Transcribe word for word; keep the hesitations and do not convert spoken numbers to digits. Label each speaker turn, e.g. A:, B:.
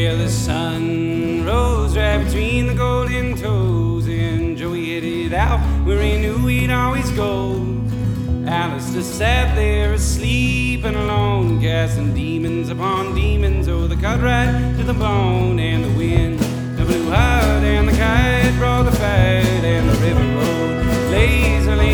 A: Well, the sun rose right between the golden toes, and Joey headed out where he knew he'd always go. Alistair sat there asleep and alone, casting demons upon demons. Oh, the cut right to the bone, and the wind blew hard, and the kite brought the fight, and the river road lazily